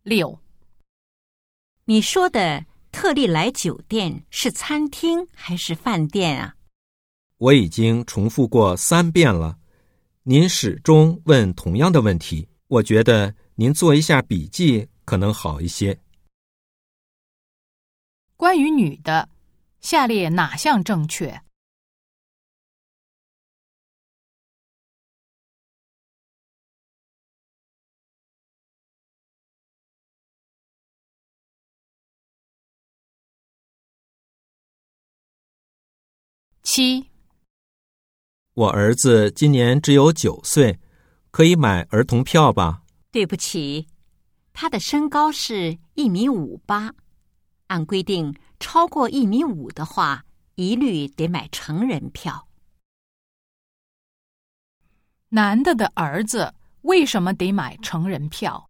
6. 你说的特利莱酒店是餐厅还是饭店啊？ 我已经重复过3遍了，您始终问同样的问题，我觉得您做一下笔记可能好一些。 关于女的，下列哪项正确？7. 我儿子今年只有9岁，可以买儿童票吧？ 对不起，他的身高是1.58米，按规定超过1.5米的话，一律得买成人票。 男的的儿子为什么得买成人票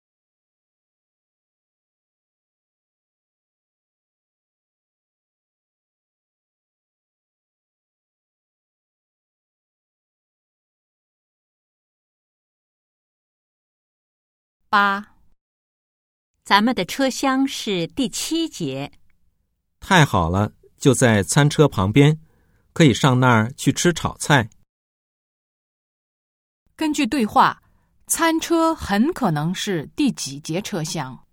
？8. 咱们的车厢是第7节。 太好了，就在餐车旁边，可以上那儿去吃炒菜。 根据对话，餐车很可能是第几节车厢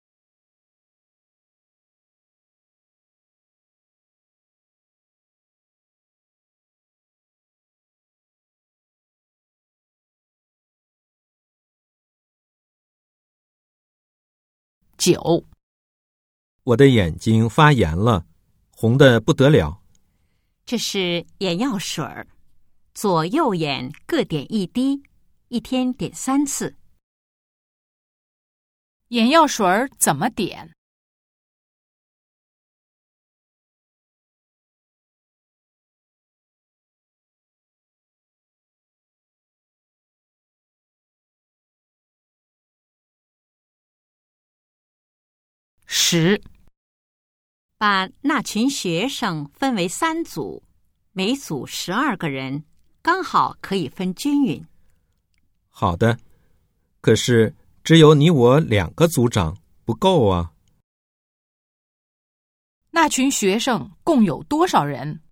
？9. 我的眼睛发炎了，红得不得了。 这是眼药水儿，左右眼各点1滴，一天点3次。 眼药水怎么点？10. 把那群学生分为3组，每组12个人，刚好可以分均匀。 好的，可是只有你我2个组长，不够啊。 那群学生共有多少人？